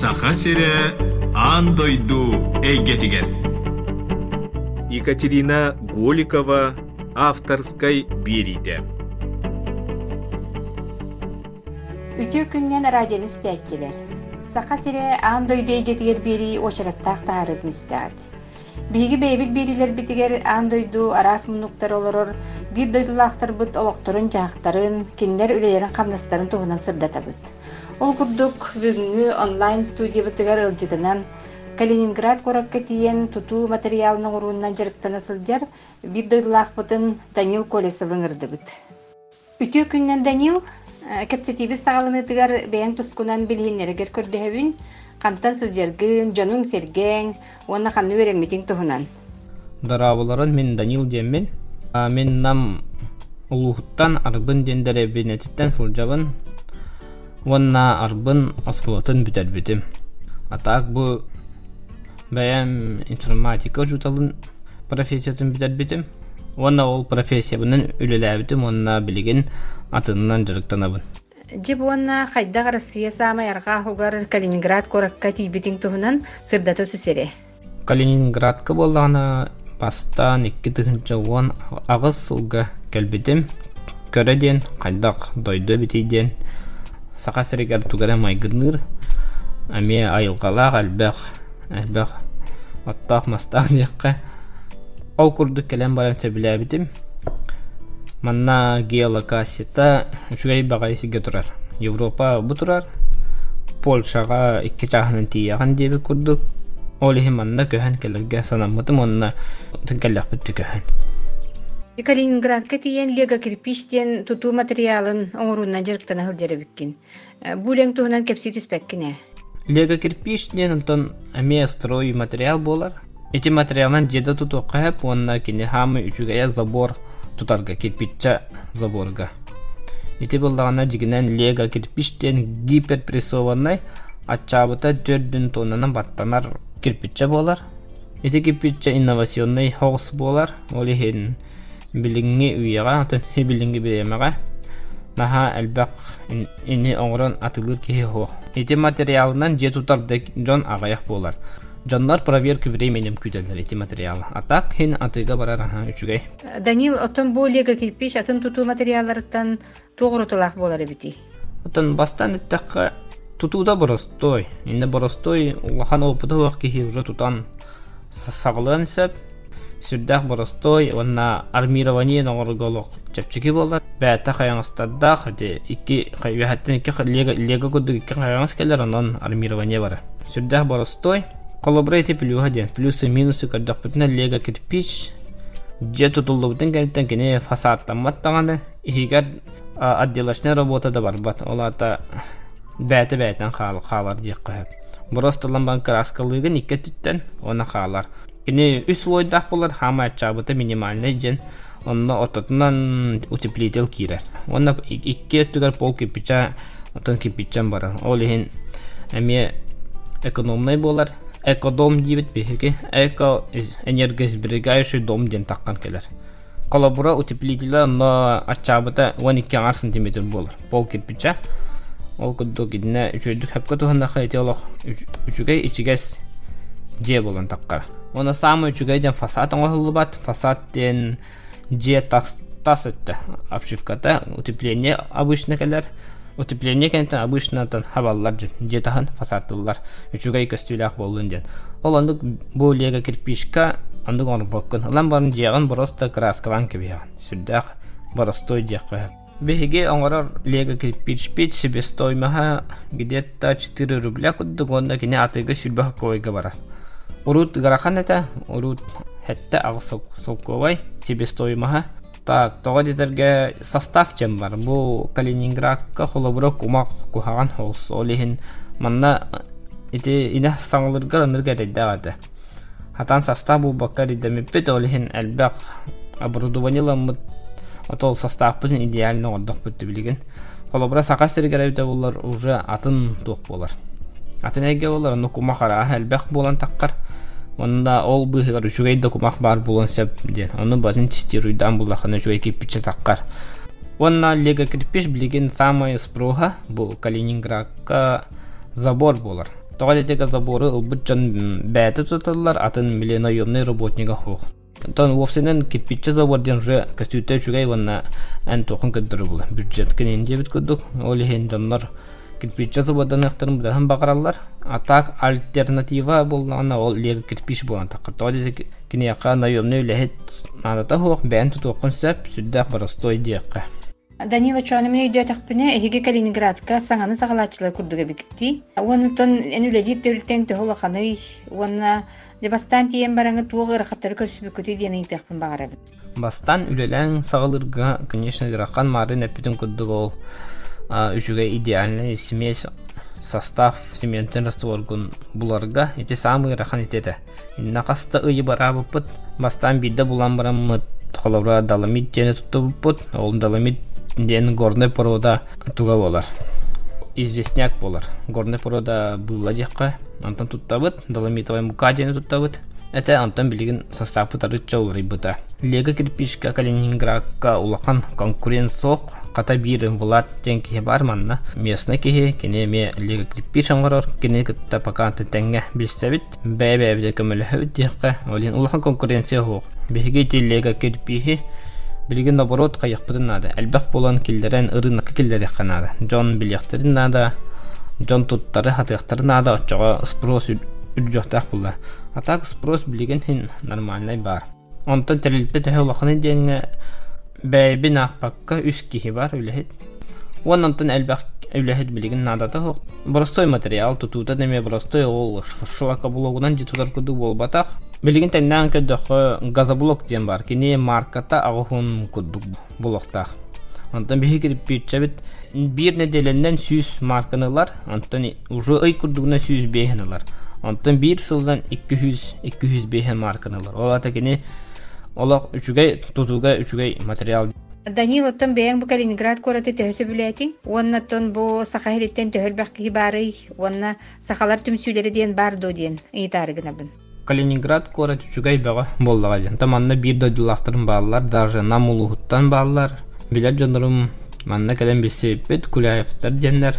Саха сире андойду эйгетигер. Екатерина Голикова авторской берите. Үтө күннен радион истәтчелер. Саха сире андойду эйгетигер бери очараттақ тағарытын истәт. Биги бейбит берилер битигер андойду арас мунуктар олорор, бир дойдулақтар быт олоқторын жақтарын, кинлер үлелерін қамнастарын туғынан сырдата быт. Ол күрдік бүгінгі онлайн студия бітігер ылжытынан Калининград коракка тиен туту материалының ұруынан жарықтана сылдер бир дойдулақ бұтын Данил Колесовың ырды быт. Үтө күннен Данил кепсетибіз сағалыны тігер бәйін тұскунан білгенлерігер көрдіхөвін, Қантан сылжергін, жонун серген, оны қанны өремметің тұхынан. Дарабыларын мен Данил деммен. Мен нам улуғыттан арбын дендері бенетіттен сылжабын. Онна арбын оскулатын бітер бітім. Атақ бұл бәйім информатика жұталын профессиятын бітер бітім. Онна ол профессия бұнын үлілі бітім, онна білген атынан жарықтанабын. Жеп онна қайдақ Россия самай арға хугар Калининград коракка тейбетің тұхынан сырдаты сүсере. Калининградқа болғаны бастан 2-10 ағыз сылға кәлбетім. Көреден қайдақ дойды бітейден. Сақа сірегер тугара майгырныр. Әме айылғалақ әлбәқ аттақ мастақ деққа. Ол күрді кәлем барамса біле бітім. Манна геолокасията үшігей бағайсыға тұрар. Европа бұ тұрар. Польшаға 2 жағынан тияған дебі күрдік. Олығы манна көйін кәлерге санамытым, онына түнкәлләқ бітті көйін. Калининградқа тиен лего кирпичтен туту материалын оңыруынан жарықтана ғылдері біккен. Бұлең тұғынан кепсі түспәккіне. Лего кирпичтен ұнтын әме строй материал болар. Эти материалын жеді тұту қайып, онына кені хамы үшігая забор тутарга кирпичча заборга. Эти болдағана жигінен лего кирпичтен гиперпрессованный атчабыта 4 тоннанан баттанар кирпичча болар. Эти кирпичча инновационный хоғыс болар. Олы хен билинги уяга, атын билинги беремега. Наха әлбәк ини оңрон атылыр кеhe хо. Эти материалынан же тутарды жон ағаяқ болар. Жанлар проверка временем күтелер эти материалы. Атак хен атыга барар үчүгей. Данил отон болега кирпич атын туту материаллардан тоғырытылақ болар бити. Отон бастан иттаққа тутуда боростой. Инде боростой улахан опыты уақ кеhe уже тутан сағылын сәп. Сүрдәк боростой, онна армирование нағырголық чәпчеки болар. Бәті қаяңыстаддақ, 2 лего күдді 2 қаяңыз келер, онан армирование бар. Сүрдәк боростой, коллаборейті плюға ден, плюсы-минусы көрдіқ бүтіне лего кирпич, же тұтылды бүтін кәліттен кене фасадтаматтағаны, егер отделашная работа да бар бат, олата бәті-бәтін қалар дек қойып. Боростылан краскалығын 2 түттен, оны қалар. Кене үс лойдақ болар, хама атчабыты минимальный ден, онна ототынан утеплитель кирер. Онна 2 түгер пол кирпича, отын кирпичан барар. Ол ехен әме экономный болар. Экодом дейбет бейхеге, энергосберегающий дом ден таққан келер. Коллабора утеплителі онна атчабыты 12 сантиметр болар. Пол кирпича. Ол күдді кедіне үшөйдік хәпкі тұғындаға ете олық үшігей ичігес же болан таққар. Оны самый үчүгейден фасад оңғылы бат, фасадтен же тас өтті. Обшивката утепление обычно келер. Утепление кенттен обычно хабаллар же тахын фасадтылар. Үчүгей көстүләк болуын ден. Ол ондық бұл лего кирпичка ондық оңыр бөккін. Олан барын жеғын бұрысты краскалан кебеған. Сүрдәк бұрыстой жеқ қойып. Беге оңғырар лего кирпич бит себестоймаға где-то 4 рубля күддік, онда кене атыға сүлбақ койға барар. Урут гарахан это, урут хетте ағыз солковай, себестоймаға. Так, тоға детерге состав чем бар. Бұл Калининградқа қолабыра кумақ кухаған хоғыз. Олеген манна ине саңылырға ынырға реддағады. Хатан состав бұл баққа реддемеппет, олеген әлбәқ оборудованиламыд. Отол состав бұзын идеально ордық бүтті білген. Қолабыра сақастыры керебді болар уже атын тоқ болар. Атын әйге болар, оны кумақара әлбәқ болан таққар. Онда ол бұғығар үшігейді кумақ бар болан сәп ден. Оны базын тестируйдан бұлақыны жүгей кеппічі таққар. Онна лего кирпич білген самай спроға бұл Калининградқа забор болар. тоҕалетега заборы ылбыт жан бәті тұталар атын миллионайомный работнига хоқ. Тон вовсенен кирпичче заборден уже костюте чугай ванна ан тоқын көддөрү була. Бюджет кенен дебит көддүк. Олихен жаннар кирпичче забордан актарын будахан багаралар. Атак альтернатива болғана ол лега кирпич болған тақыр. Тоғалетега кинеяқа наемный лехет надата хоқ бән тұтоқын сәп сүддәқ барастой дейаққа. Данила чоанымын өйдө тақпыны эһиге Калининградка саңаны сағалатчылар күрдігі бікітті. Онытон әнүләдеп тәуліктен төхолақаны, онына бастан тиен бараңы туғы ырақаттары көрсі бүкіті дейін тақпын бағарабын. Бастан үлеләң сағалырға, конечно, ыраққан мары нәппетін күрдігі ол үшіге идеальный смесь состав цементен растворгун буларга эти самые ыраққан етеді. Инна қаста ұйы бара бұппыт, бастан бидді булан барамыт, қолабыра даламит жені тұтты бұппыт, ол даламит ден горный порода туга болар. Известняк болар. Горный порода была декка, антон туттабыт, доломитовая мука ден туттабыт. Это антон билигин состав пытарыча урайбыта. Лего кирпичка Калининградка улахан конкурент соқ, қата бирін влад ден кеге бар манна. Местный кеге, кене ме лего кирпич аңғарар, кене кітта паканты тәңге білсәбіт, бәй-бәй көмілі хөбіт декка, олин улахан конкуренция хоқ. Беге те лего кирпичи билигин наоборот кайыкпытын нада. Әлбәк болан килдерен ырынакы килдер яканада. Жон билектерин нада, жон туттары хатыктары нада, очога спрос үлжөктак булла. Атак спрос билигин хин нормальный бар. Онтон терилте төхөлөхны деңе бәйбин акпакка үс кихи бар үлехет. Онтон әлбәк үлехет билигин нада та хок. Простой материал тутута деме простой ол шылака блогунан житулар куду болбатак. Билигин тәннән көдөхө газоблок ден бар. Кини марката агыхун кудук блоктак. Антон бихи кирпиччебит бир неделенден 100 марканылар, антон уже ай кудугна 100 бехнылар. Антон бир сылдан 200 бехен марканылар. Олата кини олак үчүгай тутуга үчүгай материал. Данила тон бэйэн бу Калининград кораты төһөсө бүлэти. Уонна тон бу сахахилиттен төһөлбәкки бары, уонна сахалар түмсүлери диен бардо диен ыйтарыгына бын. Калининград кораты үчүгай бага боллага диен. Таманна бир додулактырын баалар, даже намулухуттан баалар. Билер жонорум манна кален билсеппет Куляевтар диеннер.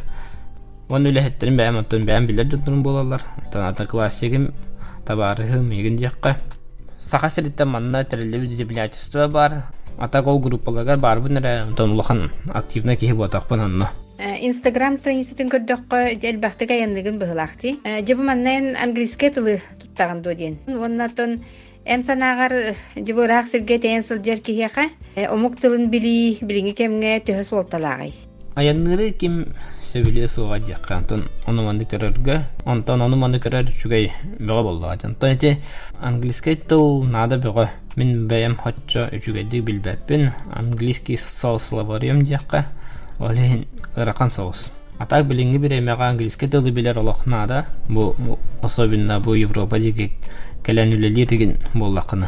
Уон үлэхеттерин бэйэм аттон бэйэм билер жонорум болалар. Ата классигим табарыхым егин диякка. Сахасириттен манна терелеби землячество бар. Атак ол группаларга бар бунара тонлохан активна кихи ботакпын анна. Инстаграм страницатын көрдөккө элбахтыга яндыгын быһылакти. Жебу маннан английский тылы туттаган доден. Оннатон эн санагар жебу рахсырге тенсил жер кихиха. Омук тылын билинги кемге төһөс олталагай. Аянныры ким сөбүле суга жакка антон онуманды көрөргө, антон онуманды көрөр үчүгэй бага болду. Антон эти английский тыл нада бага мен бэйэм хотчо үчүгэди билбеппин английский словарем жакка олен ыракан соус. Атак билинги биремега английский тылды билер олохнада бу особенно бу Европа диги келенүлелер деген боллакыны.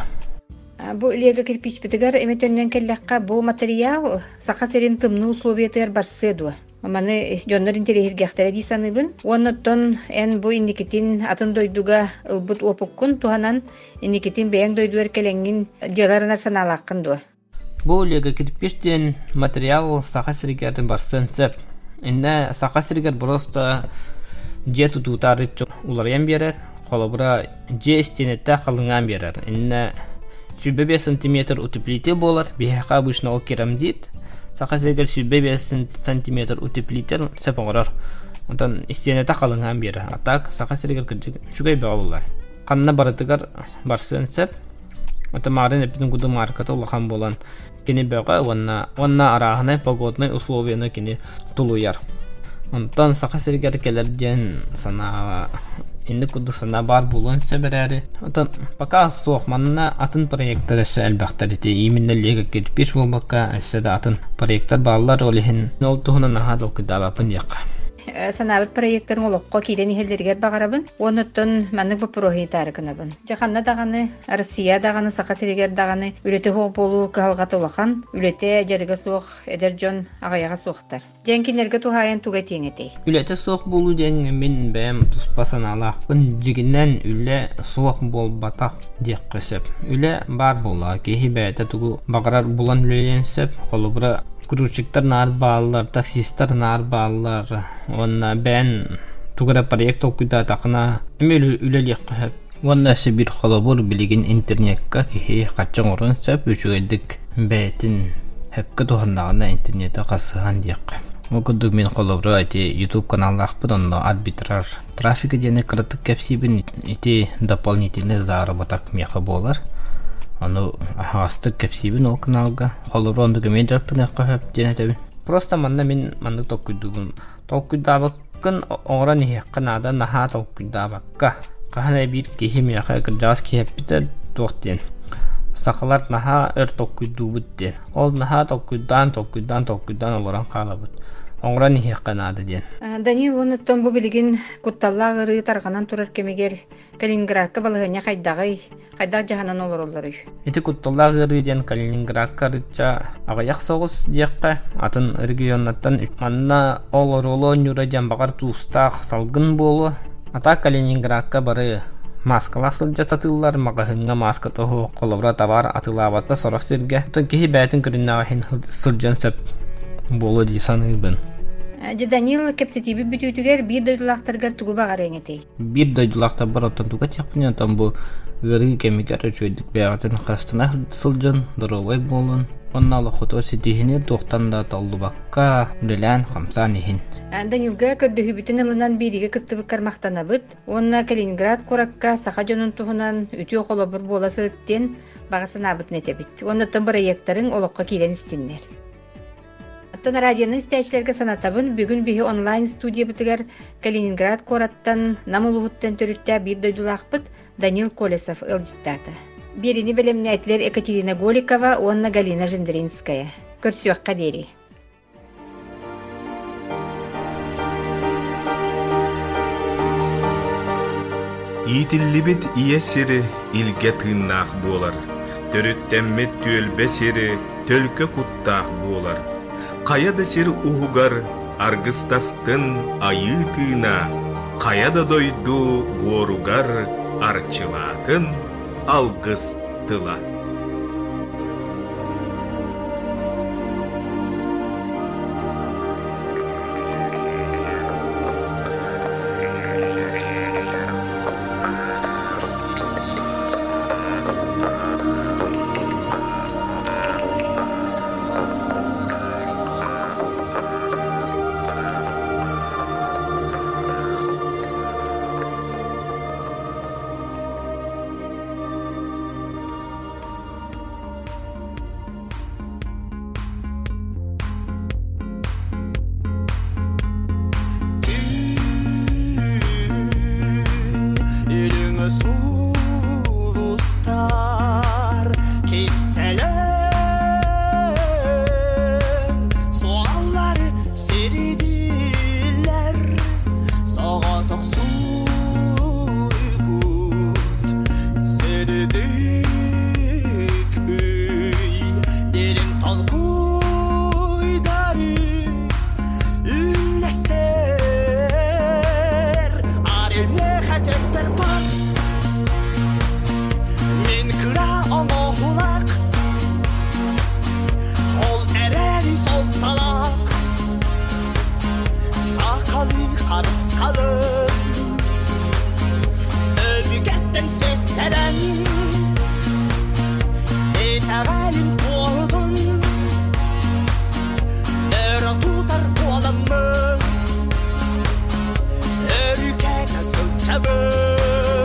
Бу лего кирпич битигер эметөннөн келлекка бу материал сахасерин тымны условиятыр барсыдуу. Маны жоннорин терехиргехтер дисаныбын. Оннотон эн бу индикетин атын дойдуга ылбыт опуккун туханан индикетин бэйэн дойдуэр келеңин дьяларынар саналаккын дуа. Бу лего кирпичтен материал сахасеригердин барсын сөп. Инне сахасеригер просто же тутутары уларыян берер, холобура же стенетте калынган берер. Инне 5 сантиметр утеплитель болар, бихака обычно ол керамзит. Сахасеригер 5 сантиметр утеплитель сөп оңорор. Онтан стенетте калынган берер. Атак сахасеригер шугай бага болар. Канна барытыгар барсын сөп. Отамарын эпиден куду марката улахан болан. Кини бага онна арахына погодный условияны кини тулуяр. Онтан сахасеригер келерден сана инде куду сана бар болон себерәри. Онтан пока соқманна атын проекттер эше әлбәхтер ите. Именно лего кирпич болмакка эше да атын проекттер баллар олихин. Нол тухуна наха докуда бапын якка. Санабыт проекттарын олоққа кейден ихелдергер бағарабын. Оныттон мәнік бұл прохи тарықынабын. Жақанна дағаны, Россия дағаны, Сақасерегер дағаны, үлеті хоқ болу кағалғат олақан, үлеті жарыға соқ, эдер жон ағаяға соқтар. Жәнкелерге тухайын туға теңетей. Үлеті соқ болу ден мен бәм тұспасын алақпын. Жігінен үле соқ бол батақ дек қысып. Үле бар бола, кейі бәйті тұғы бағарар болан үлеленсіп, Грузчиктар нар баллар, таксисттар нар баллар, онна бән тугара проект окуйда тақына эмел үлелек қап. Ванна бир холобор билигин интернетка кихи каччан орун сап үчүгедик бетин хепке тухандагына интернетте касыган диякка. Окудук мен холобро айти YouTube каналлахпын онно арбитраж трафика дене кыртык кепсибин ити дополнительный заработок меха болар. Ону астык кепсибин ол каналга холобро ондук мен жактын кахап денетебин. Просто мен толкуйдабаккын оран хекканада наха толкуйдабакка. Кахана бир кихим яха кыржас кихеппите тоқтен. Сақалар наха өр толкуйдубуттен. Ол наха толкуйдан олоран қалабыт. Оңран хекканада ден. Данил онуттан бу билигин кутталлагыры тарганан турар кемегер Калининградка балыгыня кайдагы жаһанан олороллары. Эти кутталлагыры ден Калининградка рыча агаяк согус диякка атын регионнаттан манна олороло нюрадян багар тустак салгын болу. Ата Калининградка бары маскалар сылжа сатылар магахынга маска тоху колобра табар атылабатта сораксырга. Кихи бәтин көрүннагын сылжан сөп болу ди саныбын. Данил кепсетиби бүтүтүгер бир дойдулактаргар тугу багар эңетей. Бир дойдулактар бар оттан туга тяппын там бу гыры кемигер чөйдүк бягатын хастана сылжан доровой болун. Онналы хото ситихине тоқтанда талдубакка үлелән хамсанихин. Данилга көддөһү бүтүн ылынан бириге кыттыбык кармактанабыт. Онна Калининград коракка саха жонун туһунан үтүө колобур боласыттен багасынабыт нетебит. Оннотон проекттарын олокко кийлен истиннер. Оттон радионун истечилерге санатабын бүгүн биһи онлайн студия битигер Калининград кораттан намылуһуттан төрүттә бир дойдулакпыт Данил Колесов ылжыттата. Берини белемнәтлер Екатерина Голикова, Онна Галина Жендринская. Көрсөккә дери. Итиллибит иесири илге тыыннаах буолар. Төрүттэммит түөлбе сири төлкө куттаах буолар. Каяда сир уһугар аргыстастын айы тыына. Каяда дойду буоругар арчылаатын алгыс тыла. Sulustar kestelen soğanları seridiler sağatak suybut seridik üy derin talkuydari üllester aremle hatesper pat Omohulak Ol ereri soltalak Sakalı karıskalı Övgetten sekteren Etevelin doğdun Nere tutar oğlamı Övge nasıl çabuk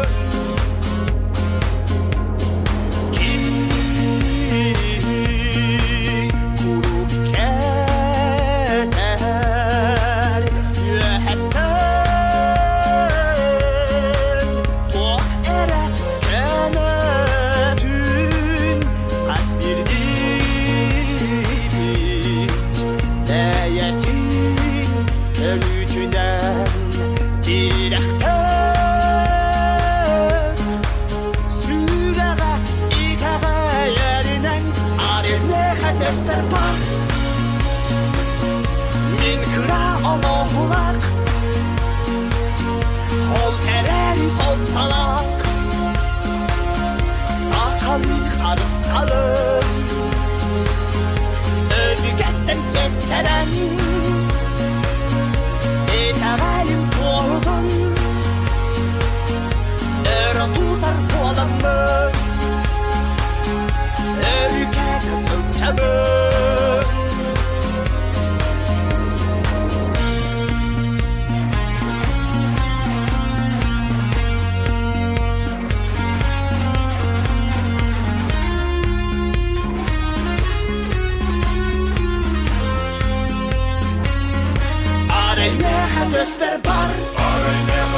Min kıra omohulak Ol ereri soltalak Sakalı karıskalı Övgetten sekteren Etağelim doğdun Öre tutar boğulamı Örüke nasıl çabuk Arayneha tösper bar Arayneha